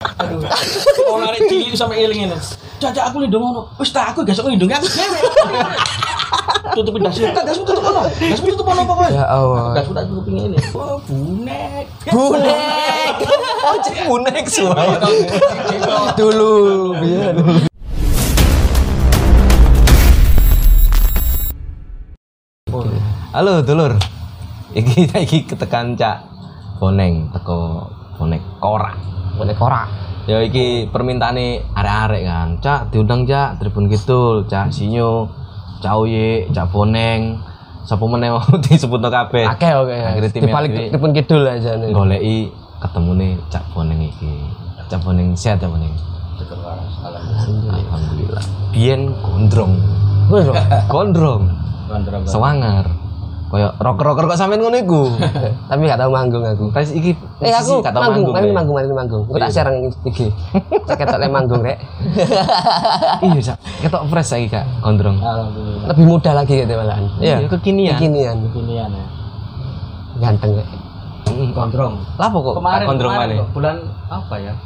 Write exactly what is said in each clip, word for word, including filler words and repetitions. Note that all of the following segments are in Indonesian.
Aduh. Oh narik cilik sampe eling ngene. Cacak aku lindung ngono. Wis tak aku gesok lindung aku dhewe. Tutup dasmu. Tak dasmu tutup ono. Dasmu tutup ono apa kowe? Ya Allah. Dasmu tak tutup ngene. Oh, bunek. Bunek. Oh, cek bunek suai. Dulu biar. Halo, dulur. Iki iki ketekan Cak Boneng teko bonek korak. Bonek korak. Ya iki permintaane arek-arek kan. Cak diundang Cak Tribun Kidul, Cak Sinyo, Cak Uye, Cak Boneng. Sapa meneh disebutno kabeh. Akeh oke. Di balik Tribun Kidul aja nih. Goleki ketemune Cak Boneng iki. Cak Boneng sehat ya Boneng. Alhamdulillah. Alhamdulillah. Biyen gondrong. Gondrong. Gondrong. Gondrong. Sewangar. Kayak rocker-rocker kok sampean ngono iku. Tapi gak tau manggung aku. Tes iki Eh aku gak tau manggung, manggung, Rek. manggung, manggung, manggung. Aku tak share nang I G. Cek ketok le manggung rek. Iya, Cak. Ketok fresh saiki, Kak. Gondrong. Alhamdulillah. Lebih muda lagi gitu malahan. Iya, kekinian. Kekinian. Kekinian ya. Ganteng rek. Gondrong. Lapo kok Kemarin gondrong kemarin maneh? kok, bulan apa ya?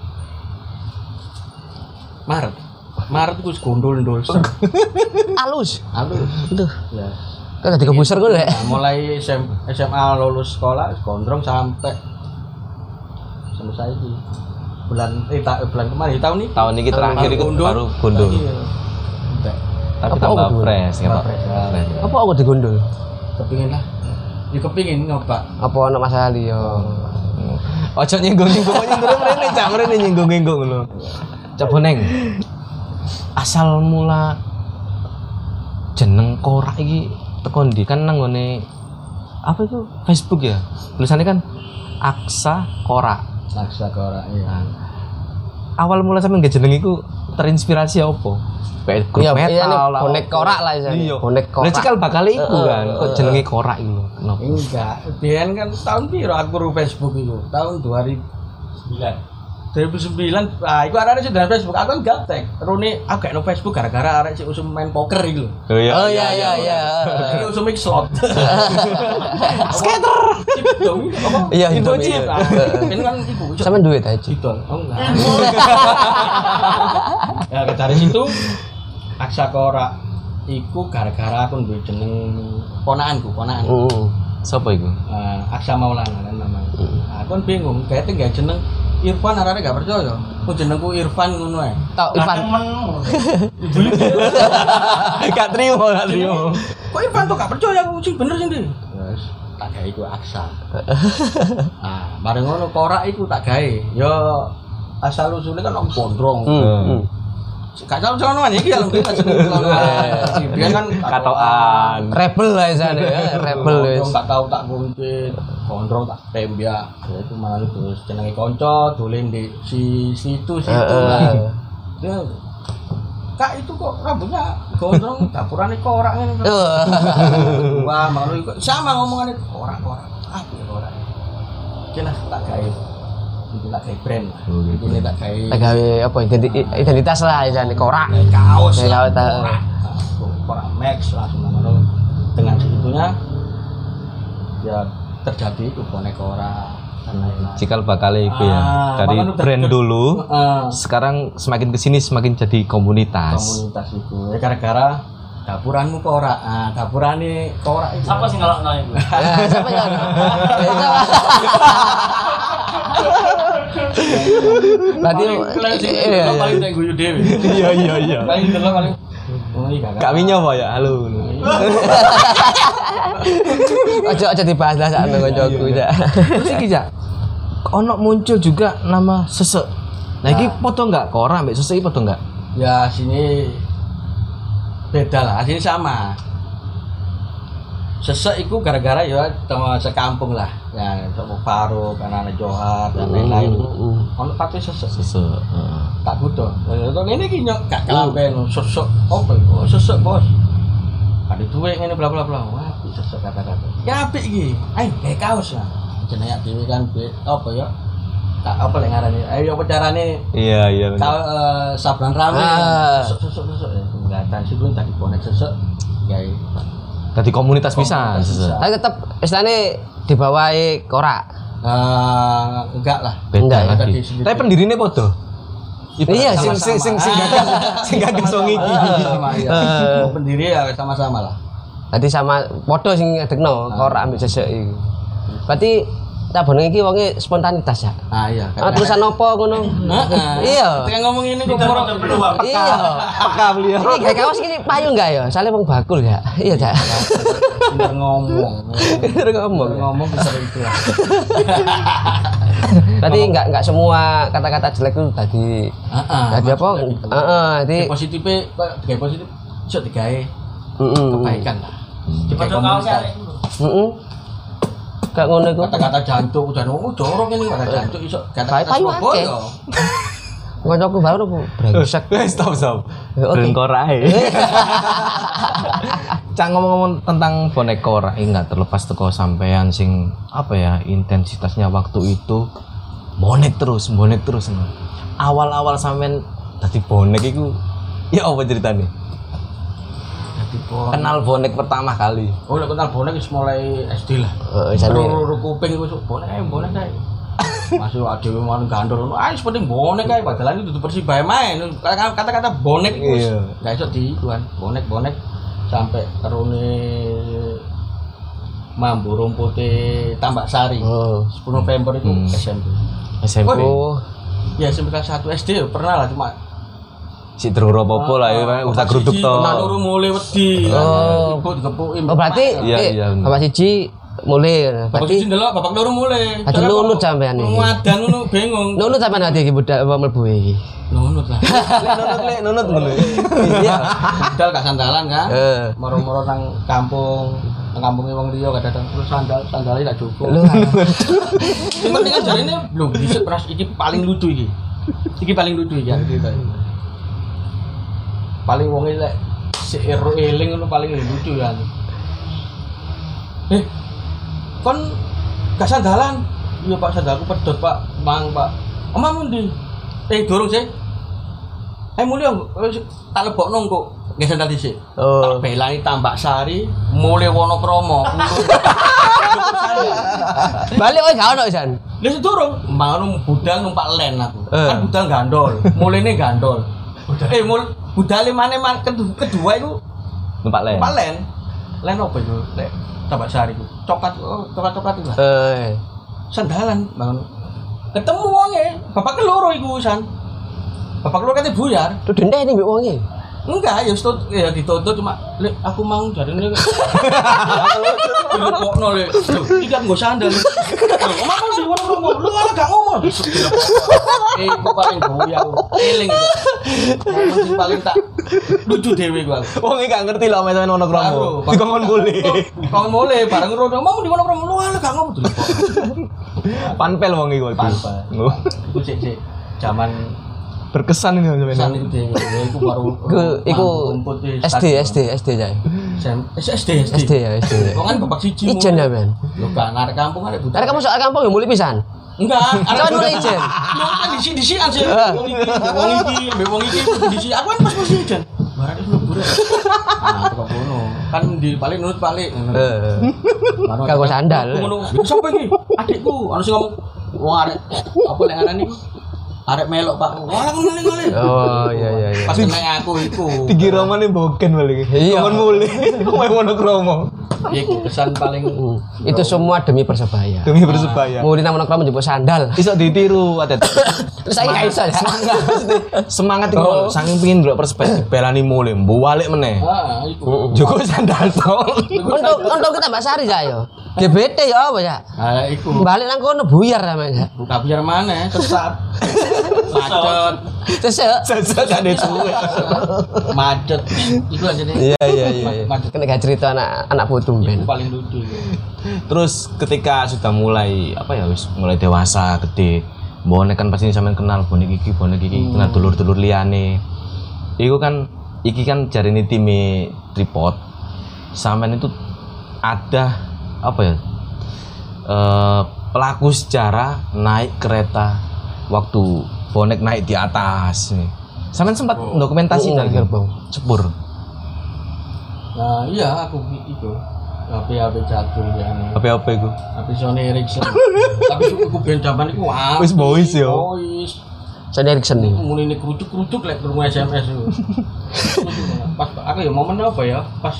Maret. Maret ku gondol-ndol. Alus. Aduh. Aduh. Ya. Kok dadi kebuser kok rek. Nah, mulai S M, S M A lulus sekolah gondrong sampai sampai saiki. Bulan eh ta, bulan kemarin tahun ini. Tahun ini terakhir itu gondol. baru gondol. Iya. Entek. Tapi Apa tambah aku fresh, Tambah ketok. fresh, ya. Fresh. Apa aku digondol? Kepingin lah. Ya kepingin nyoba. Apa ana masalah liya? Ojo nyinggung-nyinggung, nyinggung mrene, Cak, mrene nyinggung-nyinggung ngono. Cak Boneng. Asal mula jeneng korak iki teko ndi kan nang ngene apa itu Facebook ya? Tulisannya kan Aksa Korak. Laksa korak iya. Nah, awal mula sampe nggak jeneng iku terinspirasi apa? Kayak grup Iya, metal iya, nih, lah. bonek korak lah isane. Iya. Bonek korak. Lah cikal bakal iku kan, kok jenenge korak iku lho. Kenapa? Enggak, biyen kan tahun piro aku ru Facebook itu? Tahun dua ribu sembilan. dua ribu sembilan, ah iku arek sing Facebook, aku kan gaptek. Rune aku gak no Facebook gara-gara arek sing usum main poker iku lho. Oh iya. Oh iya iya iya. Iki usum iki slot. Skater. Chip dong, apa? Iya, Info Indomie. chip. Ah, Ini kan iku. Sampeyan duit aja. Idol. Oh enggak. Ya dari situ Aksa Korak iku gara-gara aku duwe jeneng ponakanku, ponakan. Heeh. Sapa iku? Uh, Aksa Maulana kan namanya. Nah, aku kan bingung, kayaknya gak jeneng Irfan, arane gak percaya. Ku jenengku Irfan ngono ae. Tok Irfan. Gak trimo, gak trimo. Kok Irfan tuh gak percaya aku sing bener sing ndi? Wes, tak gawe iku Aksa. Nah, bareng ngono korak iku tak gawe. Ya asal usule kan nang gondrong. Heeh. Gak tau sono iki ya lho jeneng sono. Biyen kan Katokan. Rebel lah isane ya, rebel wis. Gondrong tak tau tak kuntit, gondrong tak tembak. Ya itu malah terus jenenge kanca dolen di si situ situ lah. Dia Kak itu kok rambutnya gondrong dapurane korak ngene. Wah, malu kok sama ngomongane korak-korak. Apa korak? Jelas tak gawe. Itu tak gawe brand lah. Ini tak gawe. Tak gawe apa identi- identitas lah isane korak. Kaos. Ya, kaos, tak. korak. Nah, korak Max langsung ngono. Dengan segitunya ya terjadi itu bonek korak dan lain-lain. Cikal bakal iku ya. Ah, Dari makanya udah brand ter- dulu, Heeh. sekarang semakin kesini semakin jadi komunitas. Komunitas itu ya gara-gara dapuranmu korak. Ah, dapurane korak itu. Siapa sih ngelak ngelak itu? Ya, siapa ya? Berarti Paling sing iya, iya. paling tak guyu dhewe. Iya iya iya. Paling delok paling oh iya Kak Winyo apa ya? Halo. Ojo ojo dibahas lah sak nang kancaku ya. Terus iki Cak. Ono muncul juga nama Sesek. Nah iki podo enggak? Korak mbek Sesek iki podo enggak? Ya sini beda lah, sini sama. Sesek itu gara-gara ya sama sekampung lah. Ya sama Faro, karena Johar dan lain-lain. Ono pati sesek. Sesek. Heeh. Tak butuh. Kok ngene iki nyok gak kelamben sesek. Opo iku? Sesek, Bos. Ada duwe ngene bla bla bla. Wah, sesek kata-kata. Ya apik iki. Ayo gawe kaos lah. Jenenge dhewe kan apa ya? Tak apa lek ngarani. Ayo apa carane Iya iya. kau uh, sabran rame, Ah. sesek sesek sesek ya, kelihatan sih gue tadi bonek sesek, ya. Tadi komunitas bisa. Komunitas Sesek. bisa. Tapi tetep istilahnya dibawahi korak. Uh, enggak lah. Beda Enggak, lagi. Tapi pendirine podo. Iya, sing sing sing sing gagas sing gagas wong iki. Sama ya. Pendiri ya sama-sama lah. Tadi sama podo sing ngedekno korak ambek sesek iki. Berarti cabone iki wonge spontanitas ya. Ah iya. Ah tulisan opo ngono? Heeh. Iya. Ketika ngomong ini kok moro Iya. Peka beliau. Ini kayak kaos ini payu enggak ya? Soalnya wong bakul ya. Iya, Cak. pinter ngomong. Pinter ngomong. Pinter ngomong bisa itu lah. Tadi enggak enggak semua kata-kata jelek itu tadi. Heeh. Tadi apa? Heeh, tadi Positifnya kayak positif iso digawe heeh. kebaikan lah. Digawe komunitas. Heeh. Kayak ngono iku. Kata-kata jancuk dan oh jorok ini kata jancuk iso kata-kata Payu akeh. Surabaya. Kancaku baru aku brengsek. Stop stop. Ya, oke. Ben korae. Cak ngomong-ngomong tentang bonek korak ini nggak terlepas teko sampean sing apa ya intensitasnya waktu itu bonek terus, bonek terus. No. Awal-awal sampean tadi bonek itu ya apa ceritanya? Dadi bonek. Kenal bonek pertama kali. Oh, lek kenal bonek wis mulai S D lah. Heeh, jane. Ru kuping iku bonek ae bonek ae. Masuk adewe mau gandol ngono. Ah, wis penting bonek ae padahal itu dudu Persibaya main. Kata-kata bonek iku wis enggak iso diikuan. Bonek-bonek sampai terune mambu rumpute Tambak Sari. Oh. sepuluh November itu Hmm. S M P. S M P. Oh. Ya S M P kelas satu S D pernah lah cuma Si terus apa lah ya, udah geruduk to. Pernah turu mulai wedi. Oh. Ibu digepuki. Oh, berarti Iya, eh, iya, bener. Bapak siji mulai Bapak berarti siji ndelok bapak loro mulai. Ati nunut sampean iki. Ngadan ngono bingung. nunut sampean ati iki budak apa mlebu iki. Nunut lah. Nunut le, nunut ngono. Iya. Budal gak sandalan kan? Eh. Moro-moro nang kampung, nang kampunge wong liya kadang terus sandal, sandale gak cukup. Lu Sing penting kan jarine lho dhisik pras iki paling lucu iki. Iki paling lucu iki cerita. Paling wong lek sik eling ngono paling lucu ya. Eh. Kon gak sandalan. Iya Pak, sandalku pedot Pak. Mang Pak. Omamu ndi? Eh durung sih. Eh mulya tak lebokno kok. Nggih sandal dhisik. Oh. Tak belani Tambak Sari, mulai Wonokromo. balik oi gak ono San. Lah sedurung, mangono budal numpak len aku. Eh. Kan budal gandol, mulene gandol. Eh mul budale maneh man kedua, kedua iku Numpak le. numpak len. Len opo iku? Lek Tambak Sari iku. Coklat, oh, coklat-coklat iku. Eh. Sandalan bangun. Ketemu wonge, bapak keloro iku San. Bapak keloro kate buyar. Tuh dendeh ini mbek wonge. Enggak, ya stut ya dituntut cuma Lek aku mau jarine. Dilebokno le. Iki kan nggo sandal. Omah mau diwono romo. Lu malah gak ngomong. Eh, kok paling goyang. Eling itu. Momen sing paling tak lucu dhewe gua. Wong iki gak ngerti lho sampean ono kromo. Baru. Dikongkon kule. Kongkon mule bareng rono. Mau di wono romo. Lu malah gak ngomong. Panpel wong iki kok. Panpel. Oh. Iku sik-sik zaman Berkesan ini pesan sampean. itu dhewe. Iku baru Iku iku rumput di S D S D S D ya. S D S S D ya S D. Kok kan bapak siji. Ijen ya men. Lu kan arek kampung arek budak. Karena kamu soal kampung ya mulai pisan. Enggak, Jangan mulai ijen. Lu kan disi-disian sih. Wong iki, wong iki, mbek wong iki disi. Aku kan pas mesti ijen. Barang itu mlebu. Nah, kok ngono. Kan di paling nurut paling. Eh. Kagak sandal. Ngono. Sopo iki? Adikku, ana sing ngomong wong arek apa lek ngaran iku? Arek melok Pak. Wah, ngene-ngene. Oh iya iya iya. Pas kena aku iku. Dikira mane boken balik. Iya. Kon mule. Kowe ono kromo. Iku kesan paling Hmm. Itu semua demi Persebaya. Demi Persebaya. Mau di nama kromo njupuk sandal. Iso ditiru atet. Terus saya gak iso ya. Semangat iku Oh. saking pengin ndelok Persebaya belani mule, mbu balik meneh. ah iku. Joko sandal to. Untuk untuk kita Mbak Sari ya yo. G B T ya apa ya? Ah iku. Balik nang kono buyar namanya. Buka biar mana? Sesat. Macet. Sesek. Sesek gak ada suwe. Macet. Iku aja nih. Iya iya iya. Macet. Kena gak cerita anak anak putu Itu ben. paling lucu. Itu. Terus ketika sudah mulai apa ya wis mulai dewasa, gede. Bonek kan pasti sampean kenal bonek iki, bonek iki kenal dulur-dulur liyane. Iku kan iki kan jarine time tripod. Sampean itu ada apa ya? Eh pelaku sejarah naik kereta waktu bonek naik di atas nih. Sampean sempat Oh. dokumentasi Oh, dari gerbong. Sepur. Nah iya aku itu. H P H P jadul ya. H P apa iku? H P Sony Ericsson. Tapi suku ben jaman iku wah. Wis boys yo. Boys. Sony Ericsson nih. Mulai ini kerucuk-kerucuk lek krungu S M S itu. Pas aku ya momen apa ya? Pas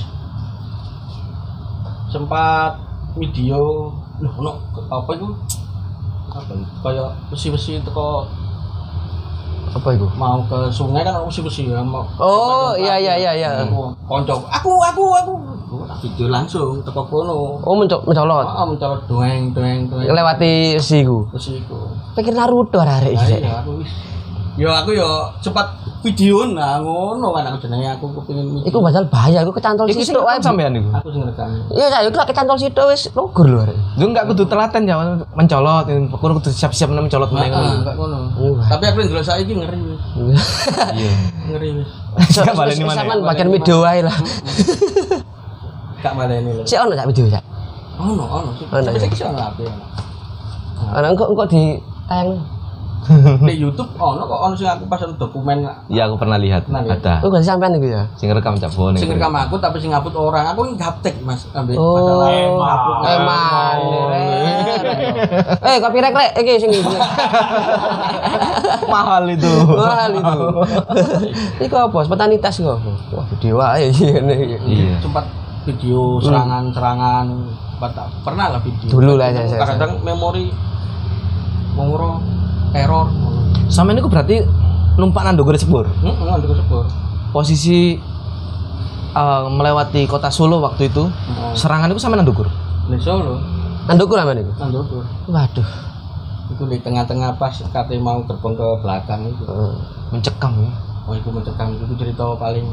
sempat video loh ono apa itu? Apa itu? Kayak besi-besi teko Apa itu? mau ke sungai kan ono besi-besi ya mau. Oh, iya iya iya iya. Konco, aku aku aku. Video langsung teko kono. Oh, mencok mencolot. Oh, mencolot doeng doeng doeng. Lewati siku. Besi iku. Pikir Naruto arek Nah, iki. iya, aku wis. Ya aku ya cepat video nah ngono kan aku jenenge aku kepengin video. Iku padahal bahaya, iku kecantol Iku sing sitok wae. sampean iku. Aku sing rekam. Iya, saya iku kecantol sitok wis logur lho arek. Lu enggak kudu telaten ya mencolot, kudu kudu siap-siap nang mencolot meneh Heeh, ngono. enggak ngono. Wah. Tapi aku ndelok saiki ngeri wis. Iya. Ngeri wis. Gak baleni maneh. Sampeyan bagian video wae lah. Gak baleni lho. Sik ono tak video cak. Ono ono sih. Ono, Tapi ya? saiki ono apa ya. Ana engko engko di tayang. Di YouTube ono kok ono sing aku pas dokumen. Iya aku pernah lihat. Pernah lihat. Ada. Oh, gak sampean iku ya. Sing rekam Cak Boning. Sing rekam aku tapi sing ngupload orang. Aku ngaptek Mas ambek Oh, masalah ngupload. Eman. Eh, copyright rek iki sing iki. Mahal itu. Mahal itu. Iku apa? Spontanitas kok. Wah, video wae ngene iki. Iya. Sempat video serangan-serangan Pernah- pernah lah video. Dulu lah, saya- saya- Kadang memori menguro teror. Sampeyan iku berarti numpak nang ndogor sepur. Heeh, ada kesepur. Posisi eh, melewati kota Solo waktu itu. Heeh. Serangan itu sampeyan nang ndogor. Di Solo, Nandukur aman iku. Nandokur. Waduh. Itu di tengah-tengah pas kate mau terbang ke belakang itu. Heeh. Mencekam ya. Oh, itu mencekam itu cerita paling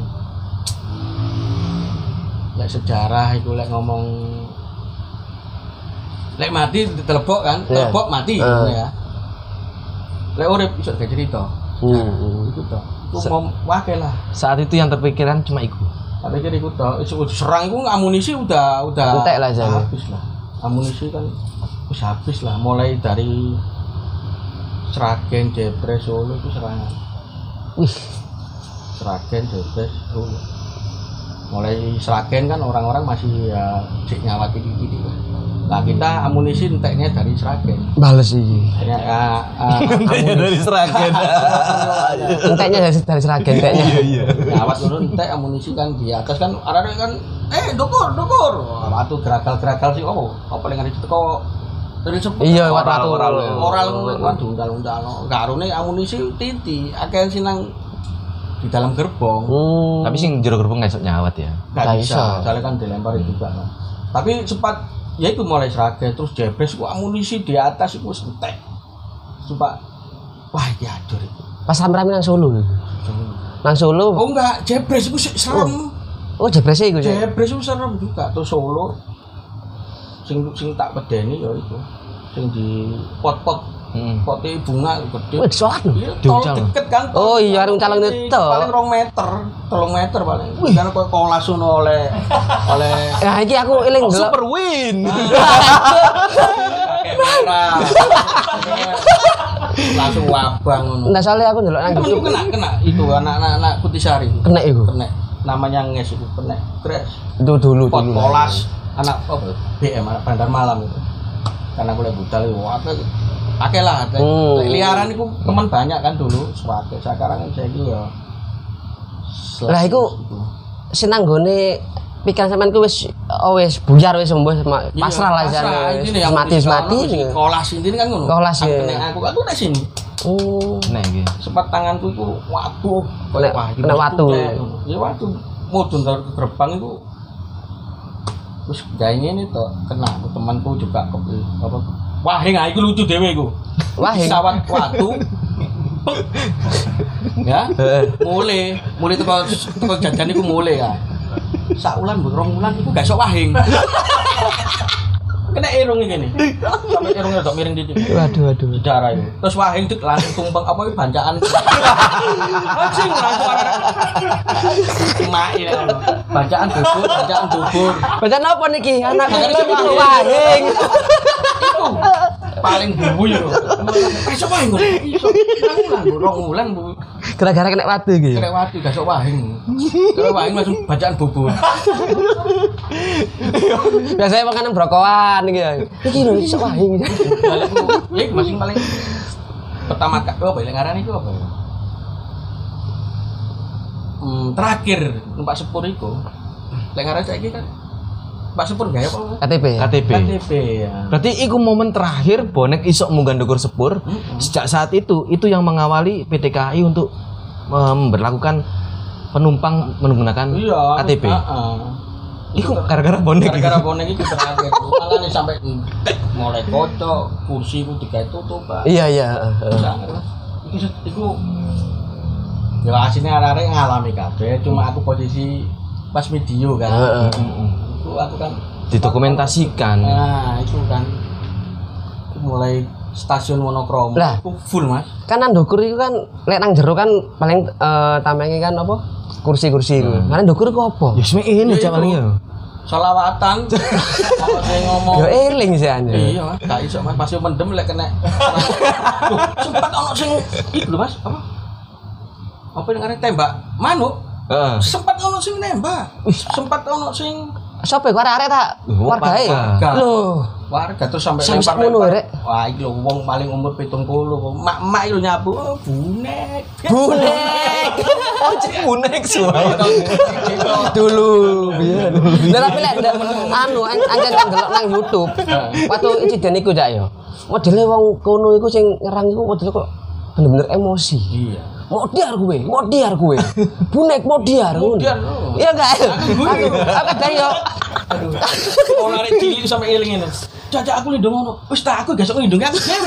lek sejarah itu lek ngomong lek mati ditelepok kan, Iya. telepok mati Eh. ngono ya. Lek urip iso gak cerita. Hmm. Itu toh. Itu mau wakil lah. Saat itu yang terpikiran cuma iku. Tak pikir iku toh, iso serang iku amunisi udah udah Entek lah jane. habis lah. Amunisi kan wis habis lah mulai dari Sragen, Jepres, Solo itu serangan. Wih, Sragen, Jepres, Solo. Mulai Sragen kan orang-orang masih ya cek nyawati titik lah. Nah kita amunisi enteknya dari Sragen. bales iki. Hanya ya, uh, amunisi Sragen. Enteknya dari dari Sragen enteknya. iya. nyawat dulu entek amunisi kan di atas kan ada kan eh dokur dokur. Waktu gerakal-gerakal sih oh apa yang ada itu kok dari sepuluh Iya, waktu Oral, oral. oral waduh undal-undal karone amunisi titi akeh sinang di dalam gerbong. Hmm. Tapi sing jero gerbong nggak iso nyawat ya. Nggak Nggak bisa, bisa. soalnya kan dilempar itu juga kan. Tapi sempat ya itu mulai Sragen terus Jepres ku amunisi di atas itu entek. Sumpah wah iki adur itu. Pas rame-rame nang Solo. Nang Solo. Oh enggak, Jepres itu sih serem. Oh, jebrese iku. Cak. Jepres itu serem juga terus Solo. Sing sing tak pedeni ya itu. Sing di pot-pot Heeh. pote bunga gede. Wih, disolat lho. Iya, tol Diuncang. deket kan. Oh iya, arung calon Paling- itu. Paling rong meter, tolong meter paling. Kan kok kolas ngono oleh oleh Nah, iki aku eling delok. Super win. kakek merah. Langsung wabang ngono. Nah, soalnya aku ndelok nang Temenku YouTube. kena kena itu anak-anak Kutisari. Kena iku. Kena namanya nges itu kena crash. Itu dulu Pot dulu. kolas anak apa B M anak bandar malam itu. Karena aku lihat budal itu apa akeh lah. Hmm. Liaran itu teman banyak kan dulu sebagai sekarang kan saya ya. Lah, iku- Senang gone pikiran sampean ku wis oh, wis buyar wis sembuh ma- Iya, pasrah lah pasrah. jane. Intine yang Mati wis mati. kono, wis kolas intine kan ngono. Kolas, Aku ya. kena aku aku nek sini. Oh. Nah iki. Sempat tanganku itu waduh Kena- wah, iki kena mesti watu. tuh, kayak ngono. Ya watu mudun dari gerbang itu terus gawe ngene to kena aku temanku juga ke apa wah nggak iku lucu dhewe iku Wahing. pesawat watu Pek. Ya mulai mulai teko teko jajan iku mulai ya sak ulan mbok rong ulan iku gak sok wahing kena irung iki nih sampai irungnya dok miring titik Waduh waduh. sejarah itu terus wahing dik langsung tumpeng apa itu bancaan anjing langsung main bancaan bubur bancaan bubur Bacaan apa niki? Anak Bacaan kecil apa? itu wahing. itu paling bumbu ya eh siapa yang ngomong iso rong ulan rong ulan bu Gara-gara kena watu iki. Kena watu gak sok wahing. Kena wahing langsung bacaan bubur. Biasanya makanan brokoan iki ya. Iki lho iso wahing. Ya masing paling pertama kak apa ya ngaran itu apa ya? Hmm, terakhir numpak sepur iku. Lek ngaran saiki kan Pak Sepur gaya apa? K T P. K T P. K T P ya. Berarti iku momen terakhir bonek isok munggah ndukur sepur. Mm-mm. Sejak saat itu itu yang mengawali P T K I untuk memberlakukan penumpang menggunakan Iya. K T P. Heeh. Iku gara-gara bonek. Gara-gara bonek itu terakhir. Malah nih sampai mulai kocok, kursi itu digawe tutup, Pak. Iya iya. Iku iku ya asine arek-arek ngalami kabeh, cuma aku posisi pas video kan. Heeh. Itu aku kan Didokumentasikan. nah, itu kan itu mulai stasiun Wonokromo Lah. itu full, Mas. Kan nang ndukur iku kan lek nang jero kan paling eh tamenge kan apa? Kursi-kursi iku. Kan ndukur iku apa? Ya semek ini Ya, jawabannya. itu. Selawatan. Kalau saya ngomong Yo eling sih ane. iya, Mas. Gak iso, Mas. Pasti mendem lek kena. Loh, sempat ono sing iku lho, Mas. Apa? Apa yang ngarep tembak manuk? Heeh. Sempat ono sing nembak. Sempat ono sing Sopo iku arek-arek tak Oh, wargae? warga. Lho, warga terus sampai Sampai sak ngono, Rek. Wah, iki lho wong paling umur pitung puluh. Mak-mak itu nyapu, oh, bonek. bonek. Oh, cek bonek suai. Dulu biyen. Lah tapi lek ndak anu anjen nang delok nang YouTube. Waktu insiden iku jak yo. Modele wong kono iku sing nyerang iku modele kok bener-bener emosi. Iya. Modiar gue, modiar gue. Bonek modiar ngono. Modiar, oh. Iya enggak? Aku aku kadang yo. Aduh. Kalau arek cilik sampai eling ngene. Caca aku lindung ngono. Wis tak aku gesok nglindungi aku dhewe.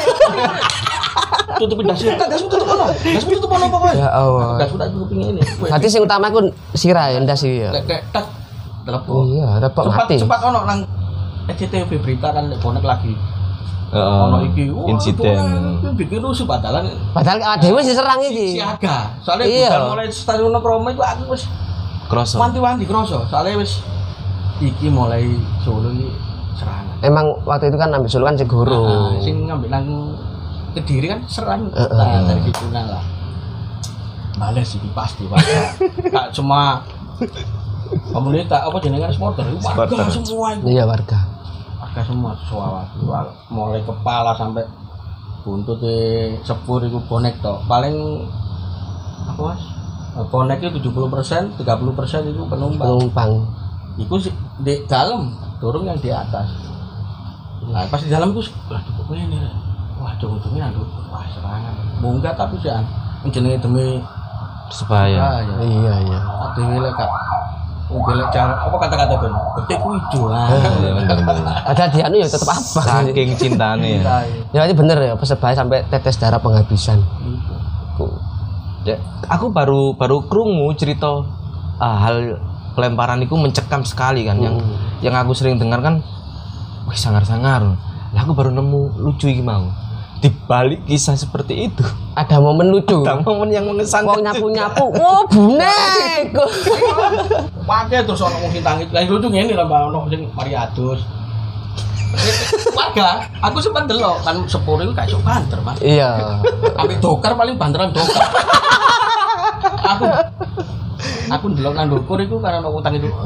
Tutupin das. Tak das tutup ono. Das tutup ono pokoke. Ya Allah. Das udah tutup ngene. Berarti sing utama ku sirah ya ndas iki ya. Lek lek tak telepon. Iya, repot Cepat mati. cepat ono nang S C T V berita kan lek bonek lagi. Heeh. Ono iki. wah, Insiden. bonek, bikin rusuh padahal Padahal awake dhewe diserang iki. siaga. Soalnya Iya. udah mulai stasiun Wonokromo itu aku wis Kroso. wanti-wanti kroso. Soalnya wis iki mulai Solo iki serangan. Emang waktu itu kan ambil Solo kan Segoro. Nah, sing ngambil nang Kediri kan serang. Heeh. Nah, dari situ nah lah. Males iki pasti Pak. Kak cuma pemerintah apa jenengan supporter warga Supporter. semua itu. Iya warga. Warga semua suara mulai kepala sampai buntut e sepur itu bonek tok. Paling apa Mas? Bonek itu tujuh puluh persen, tiga puluh persen itu penumpang. Penumpang. Iku sih di dalam, turun yang di atas. Nah, pas di dalam itu lah cukup ini. Wah, ujung-ujungnya aduh, wah serangan. Munggah tapi sih jenenge demi Supaya. ah, ya. Iya iya. Adewe lek Kak. Mobil cara apa kata-kata Ben? Ketik ijo. Ah. Iya, bener-bener. Padahal dia anu ya tetep apa. Saking cintane ya. Ya itu bener ya, Persebaya sampai tetes darah penghabisan. Ya, aku baru baru krungu cerita ah, hal pelemparan itu mencekam sekali kan. Yang yang aku sering dengar kan, wih sangar-sangar. Lah aku baru nemu lucu iki mau. Di balik kisah seperti itu, Ada momen lucu. ada momen yang mengesankan. Wong nyapu-nyapu, oh bonek. Pakai terus ono wong sing tangi. Lah lucu ngene lah Mbak ono sing mari adus. Warga, aku sempat delok kan sepur itu kayak sok banter, Mas. Iya. Ambek dokar paling banteran dokar. aku aku ndelok nang ndukur iku karena ono utang itu.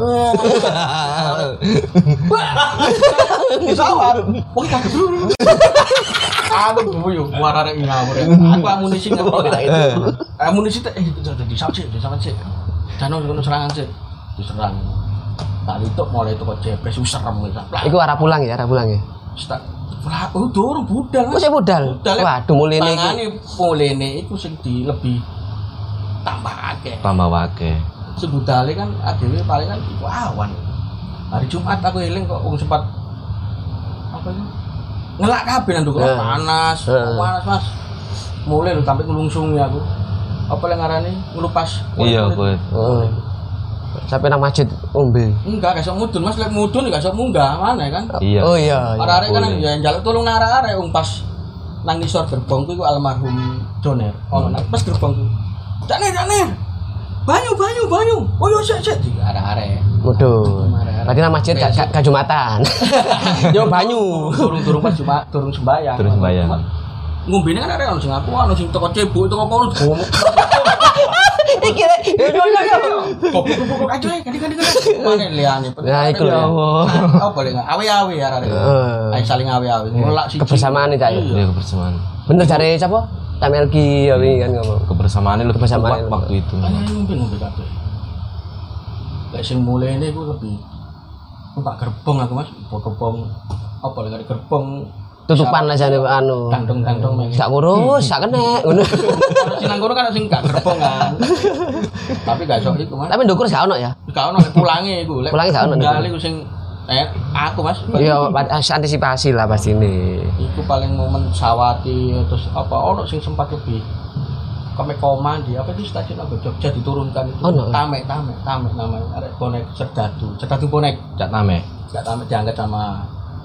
Disawat. Wong kaget. Aduh, guyu, muara arek ngawur. Aku amunisi ngerti lah itu. Amunisi teh eh jadi disawat sih, disawat sih. Jano ngono serangan sih. Diserang. Tak itu mulai toko jepres wis serem iki. Iku arah pulang ya, arah pulang ya. Stak. Lah, oh durung budal. Oh, saya budal. Waduh, mulene iki. Tangane mulene iku sing di lebih tambah akeh. Tambah wake. Sebudale kan adewe paling kan iku awan. Hari Jumat aku eling kok wong sempat apa itu? Ngelak kabeh nang ndukure Eh. panas. Eh. Panas, Mas. Mulai lho sampai ngelungsungi aku. Apa yang ngarani ngelupas. Iya, kuwi. Oh. Sampai nang masjid ombe. Enggak, gak iso mudun, Mas. Lek mudun gak iso munggah, mana kan? Iya. Oh iya. iya. Arek-arek kan boleh. ya njaluk tulung nang arek-arek wong pas nang ngisor gerbong ku iku almarhum Joner. Ono nang pas gerbong ku. Jane, jane. Banyu, banyu, banyu. Oh yo sik sik di arek-arek. Waduh. Berarti nang masjid gak gak- gak Jumatan. Yo banyu. Turun-turun pas cuma turun sembayang. Turun sembayang. Ngombene kan arek ono sing aku, ono sing teko cebuk, teko apa ono. Iki rek. Yo yo yo. Goblok-goblok aja ganti-ganti. Mane liyane. Nah, iku lho. Apa lek awe-awe arek. Ayo saling awe-awe. Ngelak siji. Kebersamaan Cak. Iya kebersamaan. Bener jare sapa? Tamelki ya wingi kan ngomong. Kebersamaan lebih Kebersamaan kuat waktu itu. Ana ngombe-ngombe kabeh. Lek sing mulene iku lebih numpak gerbong aku Mas, gerbong apa lek gerbong Tutupan lah jane anu. kantong-kantong mek. Sak ngurus, sak kenek ngono. Kalau sing nang kono kan sing gak gerbong kan. Tapi gak iso iku Mas. Tapi ndukur gak ono ya? Gak ono lek pulange iku. Lek Pulange gak ono. Tunggal iku sing eh aku Mas. Iya, antisipasi lah pasti ini. Iku paling momen sawati terus apa ono sing sempat lebih kome koma di apa itu stasiun apa Jogja diturunkan itu oh, no. tamek tamek tamek namanya arek bonek Serdadu Serdadu bonek Cak Name. Cak Tamek diangkat sama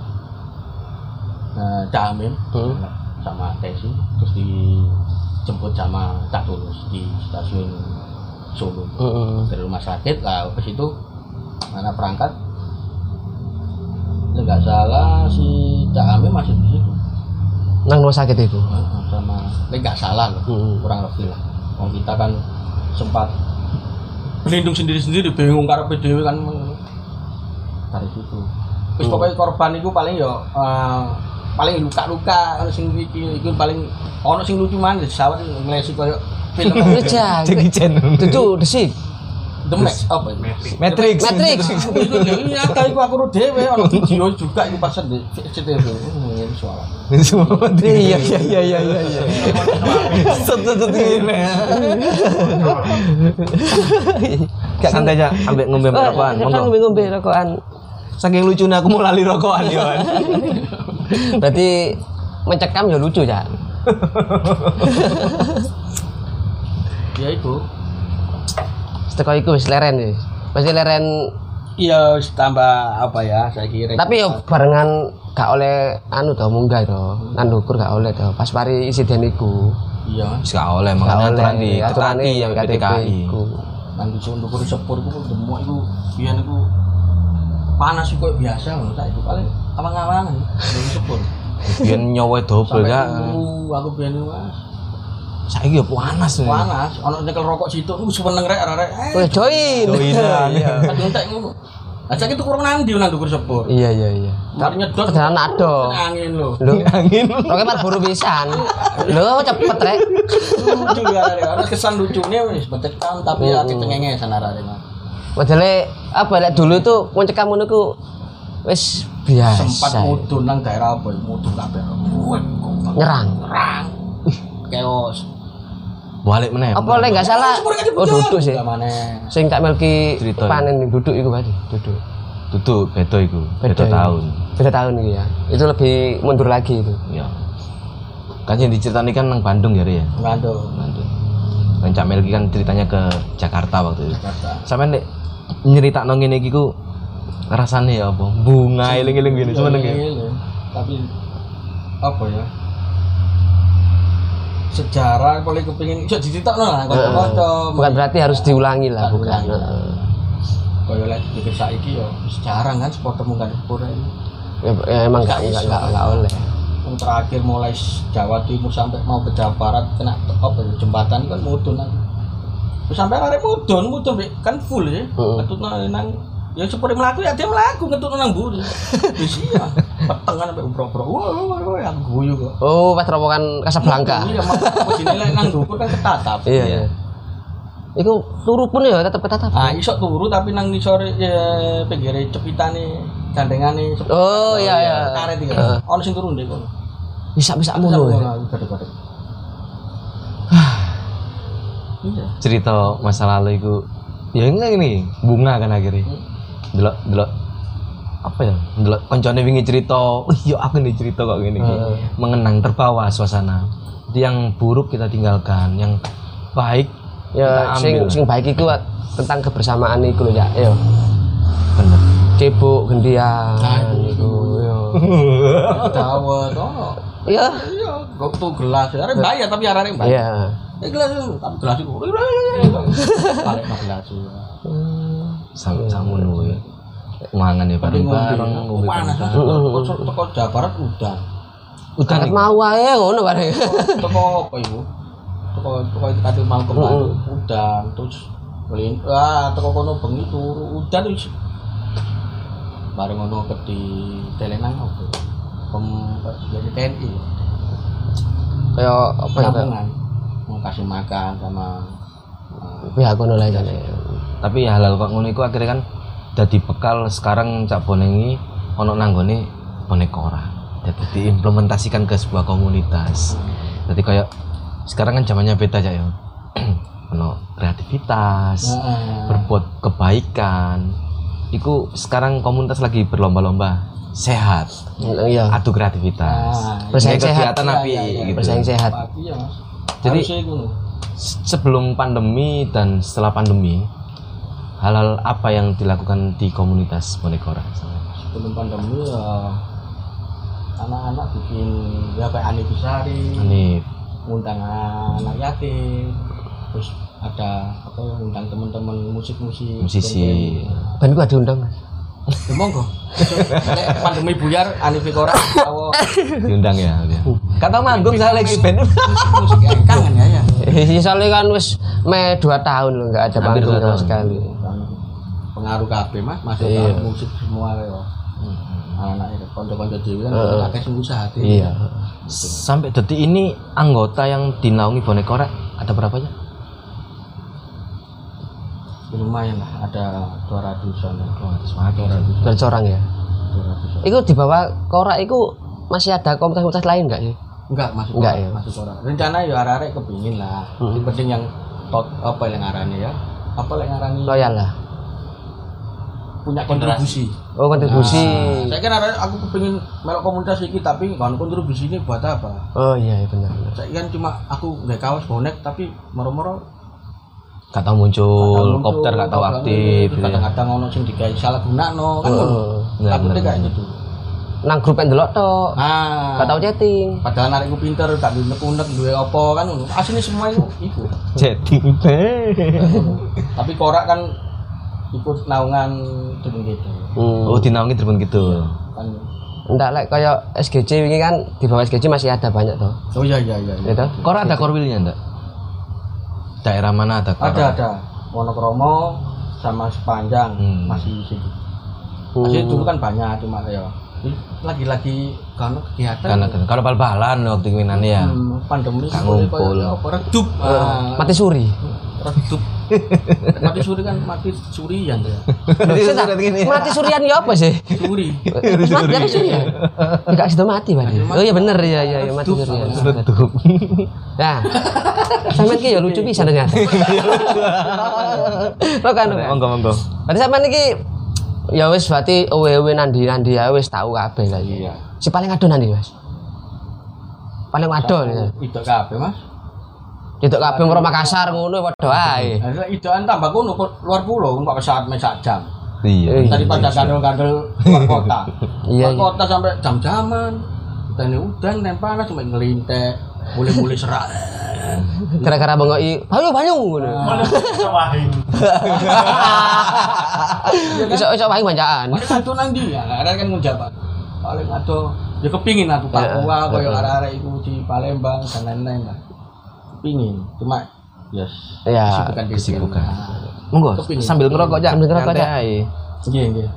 uh, Cak Amin hmm. sama Tesi terus dijemput sama Cak Tulus di stasiun Solo hmm. dari rumah sakit lah ke situ mana perangkat nggak salah si Cak Amin masih di situ nang rumah sakit itu sama nggak salah loh hmm. kurang lebih lah kalau kita kan sempat berlindung sendiri-sendiri bingung karena P D W kan dari situ terus hmm. pokoknya korban itu paling ya uh, paling luka-luka ono sing iki iku paling ono sing lucu maneh sawet nglesi koyo film Jackie Chan itu desik The Max apa itu? Matrix. Matrix. Iya, kali aku aku dhewe ono video juga iku pas di C T V. Ini soal. Iya iya iya iya iya. Satu-satu ini. Santai aja, ambil ngombe rokokan. Monggo. Ngombe rokokan. Saking lucunya aku mau lali rokokan ya. Berarti mencekam ya lucu ya. Ya itu. Teko iku wis leren ya. Pasti leren iya tambah apa ya saya kira. Tapi yo barengan gak oleh anu to munggah to. Nang ndukur gak oleh to. Pas mari insiden iku. Iya. Wis gak oleh makanya aturan di ketati yang P T K I. Nang disuruh ndukur sepur iku demuk iku biyen iku panas iku biasa ngono tak iku paling awang-awangan ndukur sepur. Biyen nyowo double ya. Aku biyen Mas. Saiki yo panas nih. Panas, ono nyekel rokok situ, aku seneng rek arek. Wes join. Iya. Kadung tak ngono. Lah saiki tuku nang ndi nang ndukur sepur. Iya iya iya. Mari nyedot kedalan ado. Angin lho. Lho angin. Roke mar buru pisan. Lho cepet rek. Lucu ya arek. Ana kesan lucune wis becekam tapi ati cengengesan arek. Padahal apa lek dulu tuh mencekam ngono ku wis biasa. Sempat mudun nang daerah apa mudun kabeh. Nyerang. Nyerang. Chaos. Balik meneh. Apa lek enggak salah? Oh duduk sih. Sing Kak Melki panen duduk iku berarti, duduk. Duduk beda iku. Beda tahun. Beda tahun iki ya. Itu lebih mundur lagi itu. Iya. Kan yang diceritani kan nang Bandung ya, Ri ya. Bandung. Bandung. Kan Cak Melki kan ceritanya ke Jakarta waktu itu. Jakarta. Sampeyan nek nyeritakno ngene iki ku rasane ya apa? Bunga eling-eling ngene seneng ya. Tapi apa ya? Sejarah boleh kepingin iso diceritakno lah kanca-kanca. Bukan berarti harus diulangi lah, bukan. Kaya lek dipikir saiki ya sejarah kan supporter mungkin sepur ini. Ya emang enggak enggak enggak oleh. Yang terakhir mulai Jawa Timur sampai mau ke Jawa Barat kena apa ya jembatan kan mudun kan. Terus sampai arek mudun, mudun kan full ya. Ketutno nang ya sepure mlaku ya dia mlaku ketutno nang mburi. Wis iya. Petengan sampai ubro-ubro. Wah, wah, wah, aku guyu kok. Oh, pas rombongan Casablanca. Iya, mau dinilai nang ndukur kan ketatap. Iya, iya. Iku turu pun ya tetep ketatap. Ah, iso turu tapi nang ngisor ya pinggire cepitane gandengane. Oh, iya iya. Karet iki. Ono sing turu ndek kono. Bisa-bisa ngono. Gede-gede. Iya. Cerita masa lalu iku ya ngene bunga kan akhirnya. Delok delok apa ya? Delok koncone wingi cerita, "Oh iya aku nih cerita kok ngene iki." Uh. Mengenang terbawa suasana. Yang buruk kita tinggalkan, yang baik ya sing sing baik iku tentang kebersamaan iku lho ya. Yo. Bener. Cebok gendian iku yo. Dawet ono. Iya. Iya, kok tuh gelas. Arek bayar tapi arek bayar. Iya. Eh gelas tapi gelas iku. Balik nang gelas. Sama-sama ngono ya. Mangan ya bareng-bareng ngombe panas. Teko Jawa Barat udan. Udan mau wae ngono bareng. Teko apa iku? Teko teko itu kate mau ke Bandung udan terus kelin wah teko kono bengi turu udan wis bareng ngono ke di Telenang opo pem jadi T N I Kayak apa ya? penampungan mau kasih makan sama uh, Pihak kono lah jane. Tapi ya halal kok ngono iku akhirnya kan dadi bekal sekarang Cak Boneng iki ono nanggone bonek ora. Jadi diimplementasikan ke sebuah komunitas. Jadi kayak sekarang kan zamannya beda aja ya. Ono kreativitas, nah, berbuat kebaikan. Iku sekarang komunitas lagi berlomba-lomba sehat, Iya. adu kreativitas. Nah, Bersaing Ini sehat. kegiatan api Iya, iya, iya. gitu. Bersaing sehat. iya Mas. Jadi Harusnya itu. se- sebelum pandemi dan setelah pandemi, hal-hal apa yang dilakukan di komunitas bonek ora? Sebelum pandemi ya anak-anak bikin ya kayak Ani Bisari, Ini ngundang anak yatim, terus ada apa ya ngundang teman-teman musik-musik, musisi. Ben gua diundang. ya monggo. Nek pandemi buyar Ani Vikora tahu Diundang ya dia. Kata manggung saya lagi band. musik yang kangen ya ya. Eh, soalnya kan wis me dua tahun loh nggak ada Hampir panggung dua sama tahun. sekali. Kan pengaruh kabeh Mas, masuk Iya. ke musik semua ya. Anak itu konco-konco dhewe kan Heeh. akeh sing usaha dhewe. Iya. Sampai detik ini anggota yang dinaungi bonek ora ada berapa ya? Lumayan lah, ada dua ratusan. dua ratus orang. Bercorang ya. dua ratusan. Iku di bawah Korak iku masih ada komunitas-komunitas lain enggak sih? Enggak, masuk Enggak, orang, ya? masuk orang. Rencana ya arek-arek kepingin lah. Hmm. Yang penting yang tot apa yang ngarani ya? Apa yang ngarani? Loyal lah. Punya kontribusi. Oh, kontribusi. Nah, saya kira arek aku kepingin melok komunitas iki tapi kan kontribusi ini buat apa? Oh iya, iya benar. benar. Saya kan cuma aku nggak kaos bonek tapi moro-moro Gak tahu muncul, kadang muncul, kopter gak tahu kadang aktif. terus gitu ya. kadang-kadang ono sing digawe salah gunakno kan. Oh, benar, Takutnya benar, kayak benar. gitu. Nang grup yang delok tok. Nah, Gak tahu chatting. padahal arek ku pinter, gak duwe unek-unek, duwe apa kan ngono. Asline semua itu iku. Chatting. Tapi korak kan ikut naungan dengan gitu Hmm. Oh, dinaungi terbang gitu. kan. Enggak like kayak S G C ini kan di bawah S G C masih ada banyak tuh. Oh iya iya iya. iya. Gitu. Kor ada korwilnya enggak? Daerah mana ada kor? Ada ada. Wonokromo sama Sepanjang Hmm. masih di situ. Hmm. Masih dulu kan banyak cuma ya lagi-lagi kan kegiatan. Karena kalau bal-balan waktu keminan ya. Hmm, pandemi Gak seperti ngumpul. kayak apa redup. Ah, Mati suri. redup. Mati suri kan mati surian ya. Mati surian ya apa sih? Suri. Terus mati apa surian? Enggak sudah mati berarti. Oh iya bener ya ya, ya mati Redup. surian. Redup. Nah, sampean ki ya lucu bisa ternyata. Lo kan. lo kan. Monggo monggo. Berarti sampean iki ya wis berarti owe-owe nandi-nandi ya wis tahu kabeh lah. Iya. Si paling ado nandi, Mas? Paling ado ya. Itu kabeh Mas. Itu kabeh moro Makassar ngono padha ae. Ada idoan tambah kono luar pulau nggak pesawat main sak jam. Iya. Daripada gandel-gandel luar kota. Iya, Luar kota sampai jam-jaman. Dan udan dan panas cuma ngelintek, boleh-boleh serak. Gara-gara bengoki, "Banyu, banyu." ngono. Iso iso wae banjakan. Paling satu nang ndi ya, ada kan ngujabat. Paling ado ya kepingin aku Papua koyo arek-arek iku di Palembang dan lain-lain lah. Kepingin, cuma yes. Ya, kesibukan diri. kesibukan. Nah, Monggo Kepingin. sambil ngerokok Cak. Sambil ngerokok, Nyantai Cak. ae. Nggih, nggih.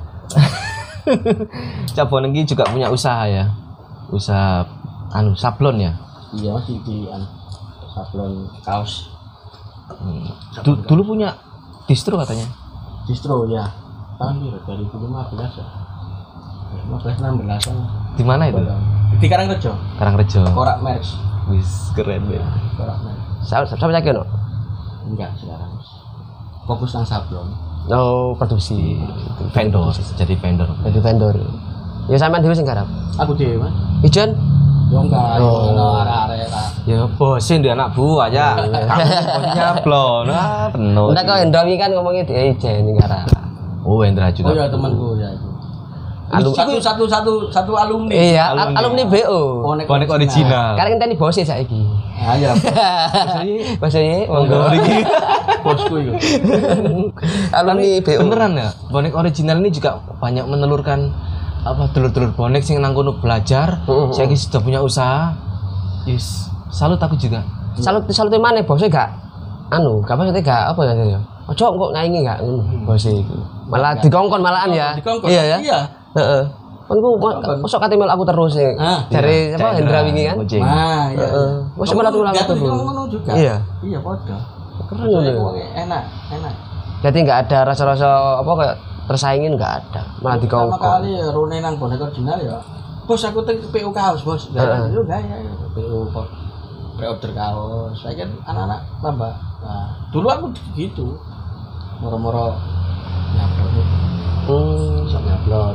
Cak Boneng iki juga punya usaha ya. Usaha anu sablon ya. Iya masih di anu, sablon kaos Hmm. Du- dulu punya distro katanya. distro ya. Tahun dua ribu lima belas ya. lima belas enam belas an. Di mana itu? Di Karangrejo. Karangrejo. Korak Merks. Wis keren ya. Korak Merks. Sampe sampe lagi ono. Enggak sekarang. Fokus nang sablon. Oh, produksi. Vendor, jadi vendor. Jadi vendor. Ya sampean dhewe sing garap. Aku dhewe, Mas. Ijen? Yo enggak, Oh. ono arek-arek lah. Ya bosin dia anak buah aja. Kamu nyablon. Ah, penuh. Enggak kok Endongi kan ngomongnya di Ijen sing garap. Oh, Hendra juga. Oh ya temanku ya itu. Alum- satu satu satu satu alumni. Iya, Alumni. alumni, alumni B O. Bonek original. Karena ngenteni bose saiki. Ah ya, Bose ye, Monggo monggo. iki. bosku itu. Alumni B O. Beneran ya? Bonek original ini juga banyak menelurkan apa dulur-dulur bonek sing nang kono belajar, Heeh. saya sudah punya usaha. Yes, salut aku juga. Salut salut mana bose gak anu, kapan kita gak apa ya ya. Ojo kok ngaingi gak ngono bos iku. Malah dikongkon malahan ya. Dikongkon. Iya ya. Iya. Heeh. Kon ku mosok kate mel aku terus sih. Ah, Dari apa Hendra wingi kan? Kucing. Nah, iya. Heeh. Mosok mel aku Dia tuh terus. ngono juga. Iya. Iya, padha. Keren ngono. Soalnya enak, enak. Jadi nggak ada rasa-rasa apa kayak tersaingin nggak ada. Malah Pertama dikongkon. kali ya Rone nang bonek original ya. Bos aku teng P U kaos, Bos. Gak Heeh. yo gak ya P U kok pre-order kaos. Saya kan anak-anak tambah. Nah, dulu aku gitu. Moro-moro nyablon. Hmm. Bisa nyablon.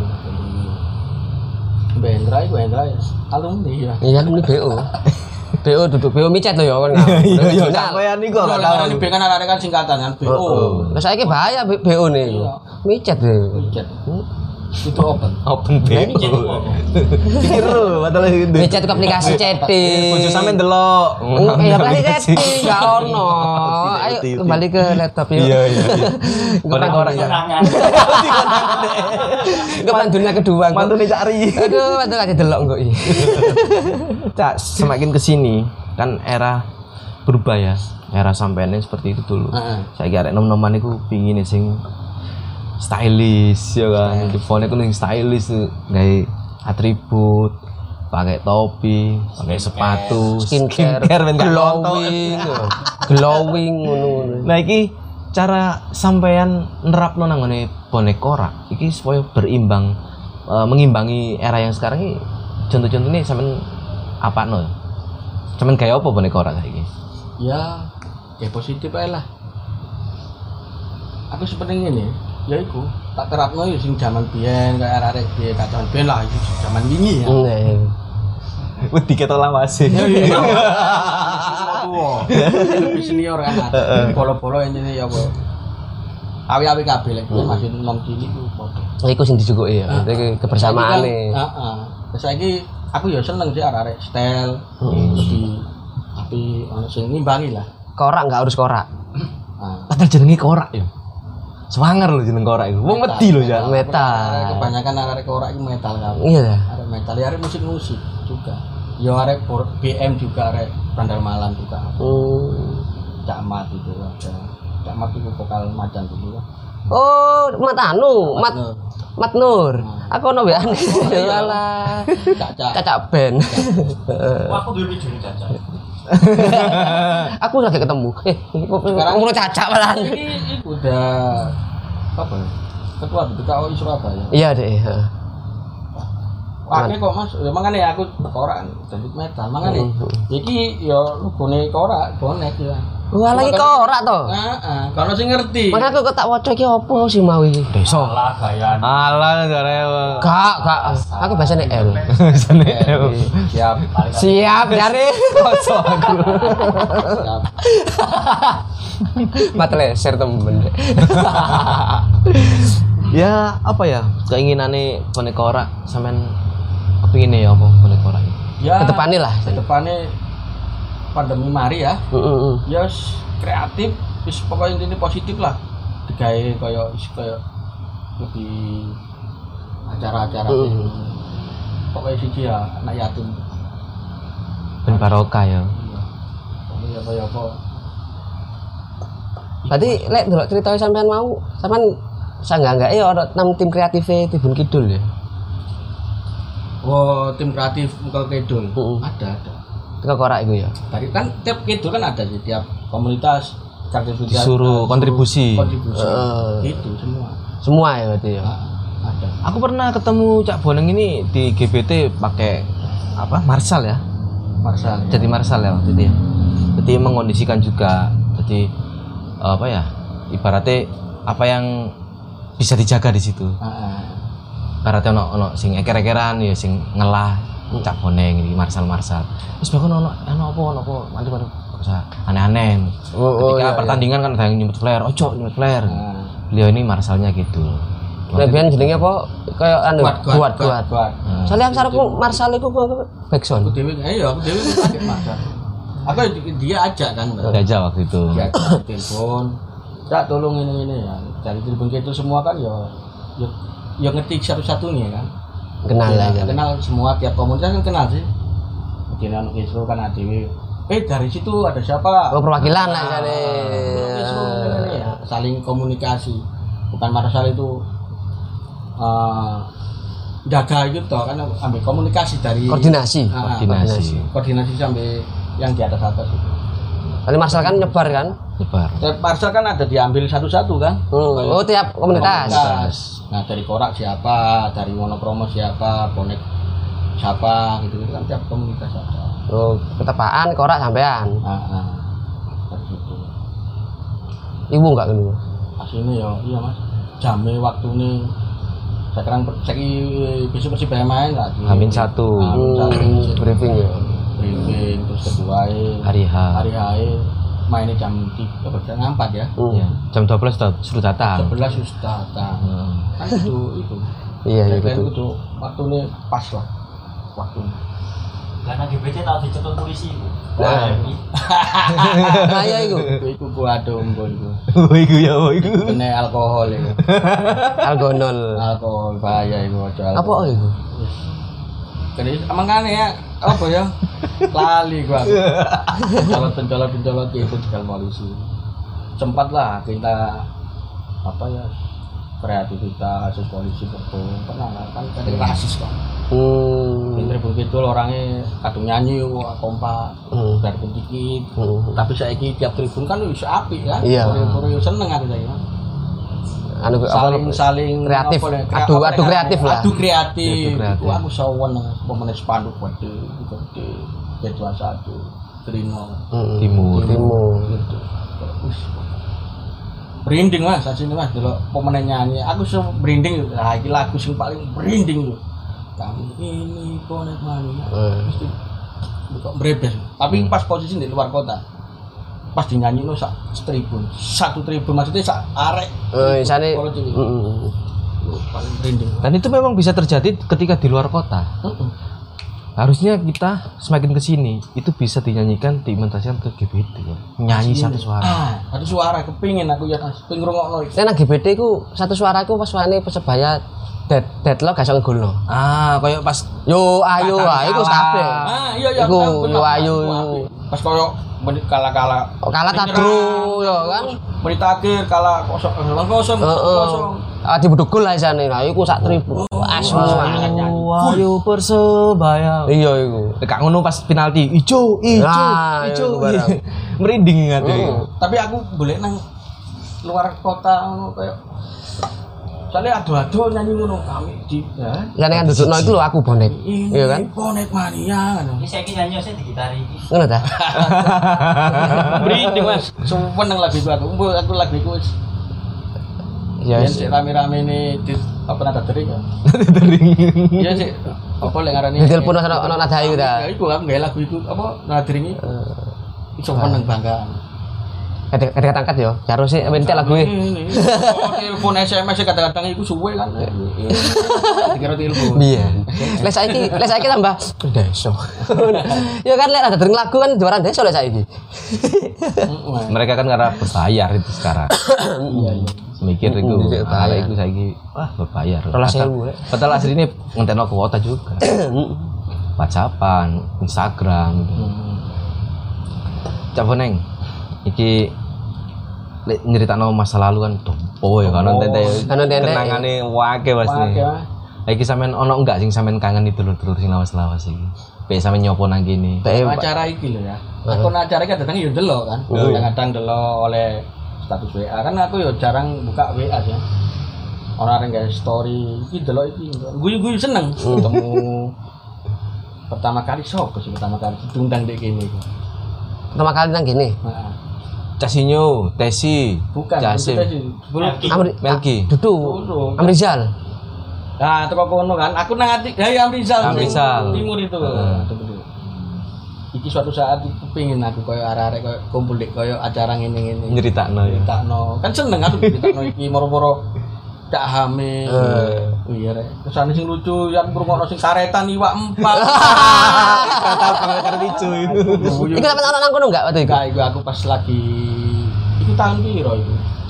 Bendra iku Bendra ya. Alumni ya. Iya kan ini B O. B O duduk B O micet loh ya kan. Iya iya Original. sampean niku gak Kalau tahu. ini B kan anak-anak kan singkatan kan B O. Lah saiki bahaya B O nih. Iya. Micet deh. Micet. Itu open. Open B O. Kira padahal itu. Micet ke aplikasi chatting. Bojo sampean delok. Oh, kayak aplikasi chatting enggak ono. Ayo T V. kembali ke laptop yuk. Iya iya. Konek Konek-konek. Kepan dunia kedua. kok. Mantune cari. Aduh, mantu aja delok kok iki. Cak, semakin kesini kan era berubah ya. Era sampeannya seperti itu dulu. Heeh. Saiki arek nom-noman iku pingin sing stylish ya kan. Di phone iku sing stylish gawe atribut, pakai topi, pakai sepatu, Skincare, ben gak glowing, glowing ngono-ngono. Nah iki cara sampean nerapno nang ngene bonek korak iki supaya berimbang eh, mengimbangi era yang sekarang ini. Contoh-contohnya sampean apano? Sampean kayak apa bonek korak saiki? Ya, ya positif ae lah. Aku sepenting ini, ya iku tak terapno ya sing jaman biyen kayak arek piye kacan biyen lah iki jaman wingi ya. Iya. Wedi ketok lawase. Iya. Tua. Lebih senior kan. Polo-polo intine ya apa. Awi-awi kabeh lek masih nom cilik ku padha. Iku sing dijukuki ya. Iki kebersamaane. Heeh. Saiki aku ya seneng sih arek-arek style lebih tapi ono sing ngimbangi lah. Korak enggak harus korak. Nah, Padahal jenenge korak ya. Swanger lho jeneng korak iku. Wong wedi lho ya. Metal. Kebanyakan arek korak itu metal kan. Iya. Arek metal ya arek musik-musik juga. Ya arek B M juga arek Bandar Malam juga. Hmm. Camat itu ada. Camat itu vokal macan dulu kan. Oh, Mat anu, Mat Nur. Mat Nur. Aku ono weane. Alah. Caca. Caca Ben. Aku dulu video caca. Aku lagi ketemu. Eh, Sekarang- ngono Caca malah. Ini udah apa ya? Ketua B P K O I Surabaya. Iya, Dek. Heeh. Pakai kok Mas, ya makane aku korak dangdut metal. Makane iki ya logone korak bonek ya. Wah, lagi korak to. Heeh, kalau sing ngerti. Makanya aku kok tak waca iki opo sih mau iki? Desa. Salah gaya. Alah jare. Gak, gak. Aku biasanya L. Jane. Siap. Siap, jare. Kosong aku. Siap. Mat leser temen. Ya apa ya keinginane bonek korak sampean kepingine ya apa bonek korak iki? Ya. Ketepane lah. Ketepane pandemi mari ya. Heeh. Ya wis kreatif, wis pokoknya intinya positif lah. Digawe kaya wis kaya lebih acara-acara Mm. sing pokoknya siji ya anak yatim. Ben barokah ya. Iya. Pokoknya apa ya apa. Tadi lek delok ceritanya sampean mau, sampean sanggak-enggak ya ono enam tim kreatif Tribun Kidul ya. Oh, tim kreatif Engkol Kidul. Mm. Ada, ada. Teko korak iku ya. Tadi kan tiap kidul kan ada sih tiap komunitas kreativitas Disuruh kontribusi. kontribusi Eh. itu semua. Semua ya berarti ya. Ah, ada. Aku pernah ketemu Cak Boneng ini di G B T pakai apa? Marshall ya. Marsal. Jadi Marshall ya waktu itu ya. Jadi mengondisikan juga. Jadi apa ya? Ibaratnya apa yang bisa dijaga di situ. Ah, Ibaratnya ono ono sing eker-ekeran ya sing ngelah Cak Boneng iki Marshall Marshall. Terus bahkan ono ono apa ono apa mantu-mantu usah aneh-aneh. Oh, oh, Ketika iya, pertandingan kan ada yang nyebut flare, ojo nyebut flare. ah. Beliau ini Marshallnya gitu. Nek biyen jenenge apa? Kayak anu Kuat, kuat, kuat kuat. kuat. Nah, Soalnya aku sarku Marsal iku Aku backsound. dewi, ayo aku dewi pakai marsal. Aku dia ajak kan, Mbak. Gajah waktu itu. Dia ajak telepon. Cak tolong ini ini ya. Dari telepon itu semua kan ya, ya, ya ngetik satu-satunya kan. Kenal Ya, aja. kenal semua tiap komunitas kan kenal sih. Mungkin anu Isro kan A D W eh dari situ ada siapa? Oh, perwakilan lah Nah, jane. ya, saling komunikasi. Bukan Marsal itu uh, jaga gitu kan ambil komunikasi dari Koordinasi. Nah, Koordinasi. koordinasi sampai yang di atas atas itu. Kali Marsal kan nyebar kan? Nyebar. Tiap Marsal kan ada diambil satu-satu kan? Hmm. Oh, tiap komunitas. Komunitas. Nah dari Korak siapa, dari Monokromo siapa, Bonek siapa gitu kan tiap komunitas ada. Oh, ketepaan korak sampean. Nah, nah. Dari situ. Ibu enggak dulu. Aslinya ya iya mas. Jamnya waktu ini sekarang saya besok bersih main lagi. Hamin satu. Hamin satu. Hmm, briefing ya. Briefing terus kedua Hari H. hari hari mainnya jam tiga jam empat ya. Hmm. Ya, jam dua belas sudah suruh datang. Sebelas sudah datang. Hmm. Kan itu itu. Iya, iya Deadline betul. itu waktu ini pas lah. Waktu. Karena G B C tahu dicekel polisi itu. Nah. Kaya iku. Iku iku gua adem gua iku. Oh iku ya, oh iku. Kena alkohol itu. Algonol. Alkohol bahaya itu aja. Apa iku? Jadi emang kan ya apa ya? Lali gua. Pencolot pencolot pencolot itu tinggal polisi. Sempat lah kita apa ya kreativitas kasus polisi betul pernah lah kan ada rasis kok. Hmm. Pinter begitu orangnya kadung nyanyi wah kompak Hmm. biarpun dikit. Hmm. Tapi saya ini tiap tribun kan bisa api kan. Iya. Korea seneng aku saya. Anu apa? Saling saling kreatif. apa ya, krea- Adu apa adu ya, kreatif lah. Adu kreatif. Adu kreatif. Itu aku sawan pemenang spanduk gede gede B dua puluh satu Trino Hmm. Timur. Timur. gitu. Wih, merinding mas, asini mas, dulu pemenang nyanyi, aku se merinding, lagi lagu sing paling merinding loh. Kami ini bonek mania, Hmm. mesti kok merebes. Tapi pas posisi di luar kota, pas dinyanyi lo sak tribun, satu tribun maksudnya sak arek. Eh, isane. Kalau jadi, Heeh. lo paling merinding. Dan itu memang bisa terjadi ketika di luar kota. Heeh. Harusnya kita semakin ke sini itu bisa dinyanyikan diimitasikan ke G B T ya. Nyanyi satu suara. Ah, satu suara kepingin aku ya mas, pengen ngrungokno iki. Nek nang G B T ku satu suara ku pas suarane Persebaya dead deadlock gak iso ngegolno. Ah, kayak pas Yo ayo Kata ah iku kalah. kabeh. Ah, iya iya. Iku, bener, bener, yo, ayo. aku apik. Pas koyo menit kala-kala. Oh, kalah tadru yo kan. Menit akhir kalah kosong kosong kosong. Heeh. kosong. Ah dibeduk gol lah isane. Nah iku sak tribun. Asu semangat nyanyi. Ayo Persebaya. Iya iku. Kak ngono pas penalti, ijo, ijo, Ah, ijo. iku barang. Merinding ingat ya. Heeh. Tapi aku boleh nang luar kota ngono kayak soalnya adu-adu nyanyi ngono kami di ya. Ya nek ndudukno iku lho aku bonek. Ini Iya kan? bonek mania kan. Ini saya nyanyi saya digitari iki. Ngono ta? Merinding mas, seneng lagu itu aku. Mbok aku lagu itu wis Ya yen sik rame-rame ini di apa nada tering ya. Tering. Iya sih. Apa lek ngarani? Ditelepon ono ono nada iku ta. Ya iku aku gawe lagu itu apa nada tering iki. Iso meneng banggaan. Kadang kadang angkat yo. Karo sih entek lagu e. Ini, oh, telepon S M S kadang-kadang itu suwe kan. Dikira telepon. Iya. Lek saiki lek saiki tambah deso. Ya kan lek ada dering lagu kan juara deso lek saiki. Mereka kan karena berbayar itu sekarang. Iya iya. Mikir itu, Iya, ala bayar. itu saya wah berbayar. Rolas Padahal- sewu, ya. Padahal asli ini ngenteno kuota juga. WhatsAppan, Instagram gitu. Cak Boneng, iki lek nyeritakno masa lalu kan tompo ya kan Oh, tete kan tete. kenangane wake pasti. Wake, Lah iki sampean ono enggak sing sampean kangen itu dulur-dulur sing lawas-lawas iki. Pek sampean nyopo nang kene. Pek Acara iki lho ya. Aku acara iki kadang yo delok kan. Kadang-kadang delok oleh status W A kan aku yo jarang buka W A ya. Orang yang guys story iki delok iki. Guyu-guyu seneng ketemu. Pertama kali sok sih pertama kali diundang dek kene iku. Pertama kali nang gini. Heeh. Casinyo, Tesi, Bukan Jasim, kita sih. Sebelum Amri Melki. Dudu. Dudu. Amrizal. Nah, teko kono kan. Aku nang ati ya Amrizal. Amrizal. Timur itu. Heeh. Betul. Iki suatu saat aku pengin aku koyo arek-arek koyo kumpul dek koyo acara ngene-ngene. Nyeritakno ya. Nyeritakno. Kan seneng aku nyeritakno iki moro-moro dak hamil. Oh iya rek. Kesane sing lucu yang ngrungokno sing karetan iwak empat. Kata pengen lucu itu. Iku sampe ono nang kono enggak waktu iku? Enggak, iku aku pas lagi iku tahun piro iku?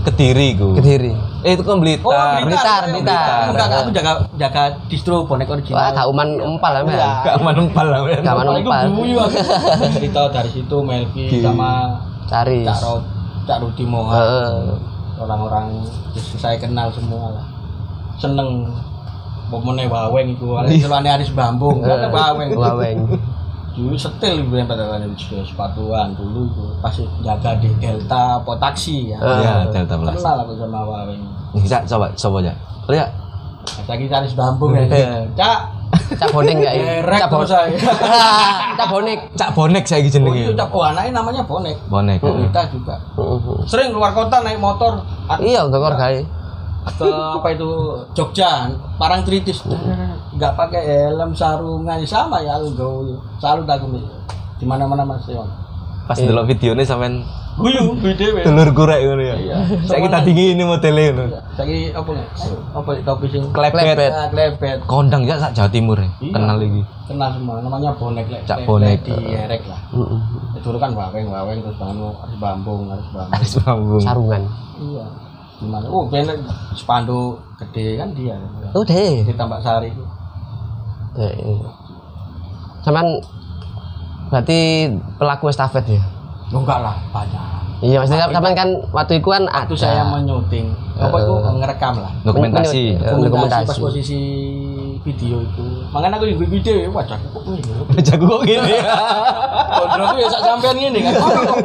Kediri ku. Kediri. Eh itu kan Blitar. Oh, Blitar, Blitar. Enggak, aku jaga jaga distro bonek Wah, original. gak uman empal lah, men. Gak manempal lah. men. Gak Apalagi manempal. guyu aku. Cerita dari situ Melki sama Caris. Cak Rod, Cak Rudi Moha. Heeh. Orang-orang yang saya kenal semua lah. Seneng pomone Waweng iku. Celane Aris Bambung, kan Waweng. Waweng. Dulu setel gue pada kan sepatuan dulu itu pas jaga di Delta apa taksi ya. Iya, Delta Plus. Kenal aku sama Waweng. Bisa coba coba aja. Lihat. Lagi Aris Bambung ya. Cak, Cak bonek enggak ya? Erek Cak terus bonek. saya. Cak bonek. Cak bonek saya Oh, jenenge. itu Cak, oh anaknya namanya Bonek. Bonek. Kita juga. Sering keluar kota naik motor. Iya, gak gawe. Ke apa itu Jogja, Parangtritis. Enggak pakai helm, sarungan sama ya aku gawe. Salut aku nih. Di mana-mana Mas Yon. Pas delok videone sampean Guyu, guyu dhewe. dulur kurek ngono ya. Iya. Saiki tak dingin ini modele ngono. Saiki apa nih? Apa topi sing Klepet. Ah, klepet. Kondang ya sak Jawa Timur ya. Iya. Kenal iki. Kenal semua, namanya Bonek lek. Cak lek- Bonek. lek Di Erek lah. Heeh. Dulu kan Waweng, Waweng terus bangun harus Bambung, harus Bambung. Aris Bambung. Sarungan. Iya. Gimana? Oh, bener spanduk gede kan dia. Oh, deh. Di Tambak Sari itu. Deh. Sampean berarti pelaku estafet ya? Oh, enggak lah, banyak. Iya, maksudnya sampean kan waktu itu kan Waktu ada. saya menyuting, apa itu ngerekam lah. Dokumentasi. Men- men- Dokumentasi dokumentasi. pas posisi video itu. Makanya aku juga video ya, wajah kok ini. Jago kok gini. Kontrol aku ya sak sampean ngene kan. Oh, kok.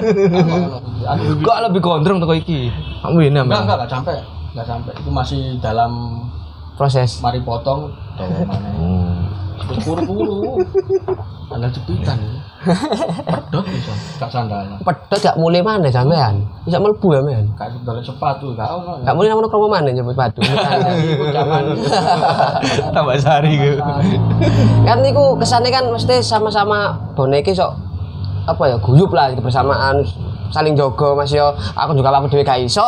Aku video- Kok lebih gondrong toko iki. Kamu ini enggak ambil. enggak enggak sampai. Enggak sampai. Itu masih dalam Proses. mari potong dawa mana. Hmm. Buru-buru. Sandal jepitan. Pedot bisa, gak sandalan. Pedot gak mulai mana sampean? Bisa mlebu ya, men. Gak sandal sepatu, gak ono. Gak mulai nang kromo mana nyebut sepatu. Iku zaman Tambah sari gitu. Kan niku kesane kan mesti sama-sama boneke sok apa ya guyup lah kebersamaan saling jogo Mas yo aku juga apa dhewe gak iso.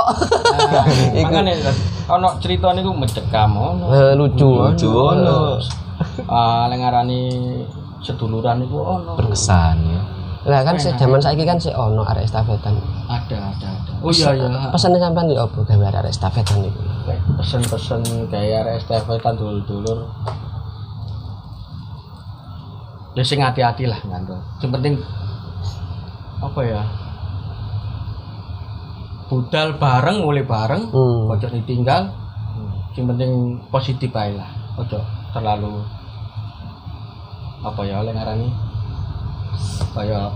Iku makane ono cerita niku mencekam ono. eh, lucu. Lucu ono. Ah, lek ngarani seduluran niku ono. Berkesan ya. Lah kan sik jaman saiki kan sik ono arek estafetan. Ada, ada, ada. Oh iya iya. Pesane sampean yo opo gawe arek estafetan niku? Kayak pesen-pesen kayak arek estafetan dulur-dulur. Ya sing hati-hati lah ngandel. Yang penting apa ya? Budal bareng, mulai bareng, Hmm. ojo ditinggal. Yang penting positif ae lah. Ojo terlalu apa ya oleh ngarani kayak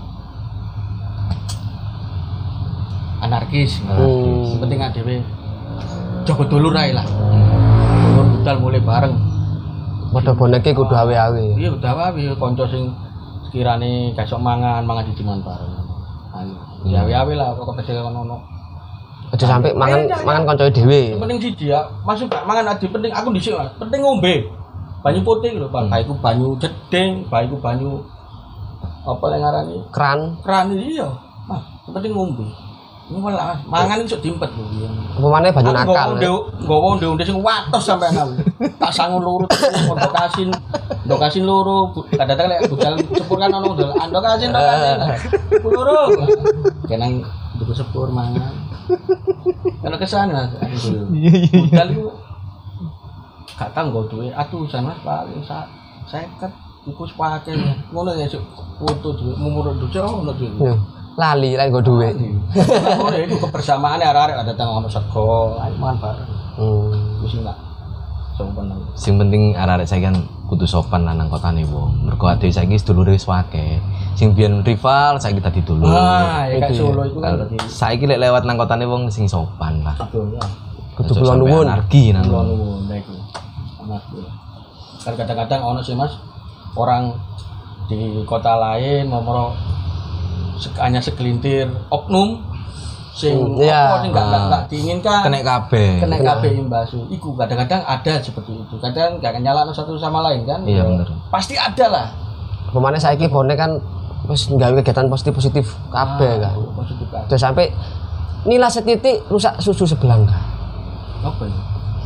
anarkis. Hmm. Yang penting adewe jaga dulur ae lah. Dulur budal mulai bareng. Padha boneke kudu awe-awe. Iya udah wae kanca sing sekirane gak iso mangan, mangan dijiman bareng. Ayo, ya wae lah kok kepese ono. Aja sampe mangan mangan kanca dhewe. Yang penting sih dia masuk gak mangan adi penting aku dhisik Mas. Penting ngombe. Banyu putih lho, Pak. Baiku banyu jeding, baiku banyu apa yang ngarani? Kran. Keran iya. Nah, yang penting ngombe. Ini malah mangan iso diempet lho. Upamane banyu nakal. Nggowo ndek-ndek sing watos sampe aku. Tak sangu lurut ndok kasin. Ndok kasin loro. Kadang-kadang lek budal sepur kan ono ndok ndok kasin ndok kasin. Loro. Kenang nduk sepur mangan. Kalau kesana aduh. Budal itu gak tanggo duwe atusan Mas paling sak seket iku sepake. Ngono ya sik foto duwe mumur duwe ono duwe. Yo, lali lek nggo dhuwit. Oh, itu kebersamaan arek-arek ada tang ono sego, ayo mangan bareng. Hmm. Wis enggak sopan. Sing penting arek-arek saiki kan kudu sopan lah nang kotane wong. Mergo ade saiki sedulure wis akeh. Sing biyen rival saiki dadi dulur. Ah, ya kayak Itu ya. Solo itu kan Kalau dadi saiki lek lewat nang kotane wong sing sopan lah. betul ya. Kudu Aja kula sampe nuwun. Anarki nang. Kulo nuwun iku. Anak kulo. Kan kadang-kadang ono sih Mas orang di kota lain nomor hanya segelintir oknum sing Hmm, iya. apa sing gak gak- gak diinginkan Kenek kabeh. kena kabeh imbasu. Iku kadang-kadang ada seperti itu. Kadang gak nyalano satu sama lain kan. Iya bener. Pasti ada lah. Upamane saiki bonek kan wis nggawe kegiatan positif-positif kabeh kan. Positif kan. Terus sampai nilai setitik rusak susu sebelangga. Apa ya?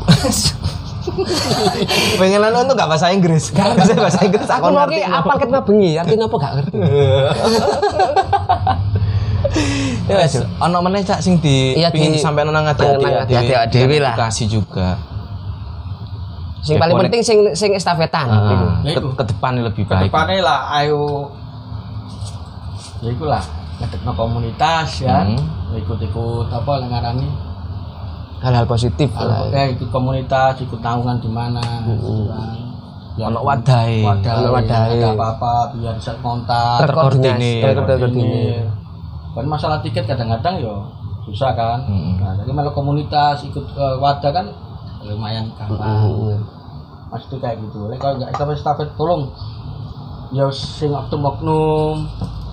Pengenan untuk gak bahasa Inggris. Gak bisa bahasa Inggris Aku aku mau ngerti. ki apal ket bengi, artinya apa gak ngerti. Ya wes. Ono meneh cak sing di Iya, pingin di- disampaikan nang ati nang ati ati-ati dhewe lah. edukasi juga. Sing Ya, paling konek- penting sing sing estafetan Ah, iku. Ya, ke, iku. ke depan lebih baik. Kedepannya lah, ayo ya iku lah ngedekno komunitas ya, Hmm. ikut-ikut apa yang ngarani Hal-hal positif lah. ya ikut komunitas, ikut naungan di mana gitu kan. Biar Ono wadahe. wadah, Ono wadahe. ada apa-apa biar bisa kontak, Terkoordinasi, terkoordinir. terkoordinir. kan masalah tiket kadang-kadang yo susah kan. Hmm. Nah, jadi malah komunitas ikut uh, wadah kan lumayan gampang. Heeh. Mas itu kayak gitu. Lek kalau nggak estafet estafet tolong ya sing oknum-oknum.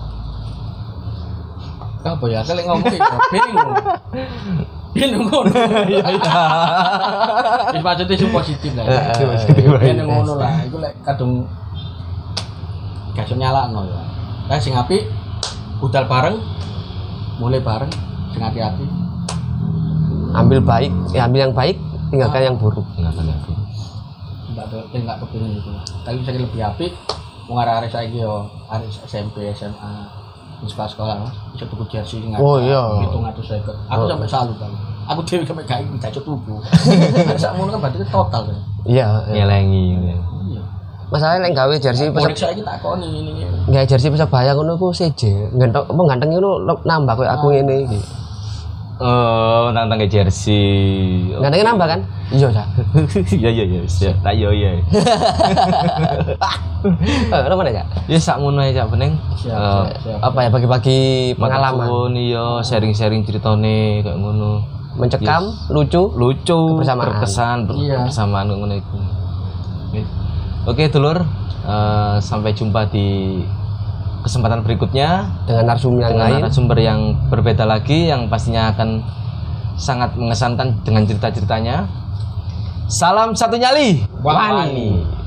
Apa ya? Saya ngomong ya bingung. Bingung ngono. Iya iya. Wis maksudnya sing positif lah. Heeh. Bingung ngono lah. Iku lek kadung gak iso nyalakno ya. Lah sing apik budal bareng, mulai bareng, sing hati-hati. Ambil baik, ya ambil yang baik, tinggalkan yang buruk. Enggak enggak. Enggak ada enggak kepengin itu. Tapi saya lebih apik wong arek-arek saiki yo arek S M P, S M A, di sekolah-sekolah Mas, bisa tuku jersey sing Oh, iya. hitung atus seket. Aku Oh. sampai salut kan. Aku dhewe sampai gak gak iso tuku. Sak ngono kan berarti total kan. Iya. iya. Nyelengi. Iya. Masalahnya lek gawe jersey Konek pesep saiki tak koni ini. gawe jersey Persebaya ngono ku seje. Ganteng apa ganteng ngono nambah koyo aku ngene iki. Oh, tentang ke jersey. Gantengnya nambah kan? Iya, Cak. Iya iya iya, siap. Tak yo iya. Eh, apa mana, Cak? Ya sak ngono ae cak bening. Siap, Eh, siap, siap. Apa ya bagi-bagi pengalaman, Pengalaman iya, sharing-sharing ceritane kayak ngono. mencekam, lucu. Lucu, Kebersamaan. berkesan, ber- Iya. bersamaan ngono iku. Oke, dulur. Eh, sampai jumpa di kesempatan berikutnya Dengan narsum yang dengan lain. narasumber yang berbeda lagi yang pastinya akan sangat mengesankan dengan cerita-ceritanya. Salam satu nyali. Wani.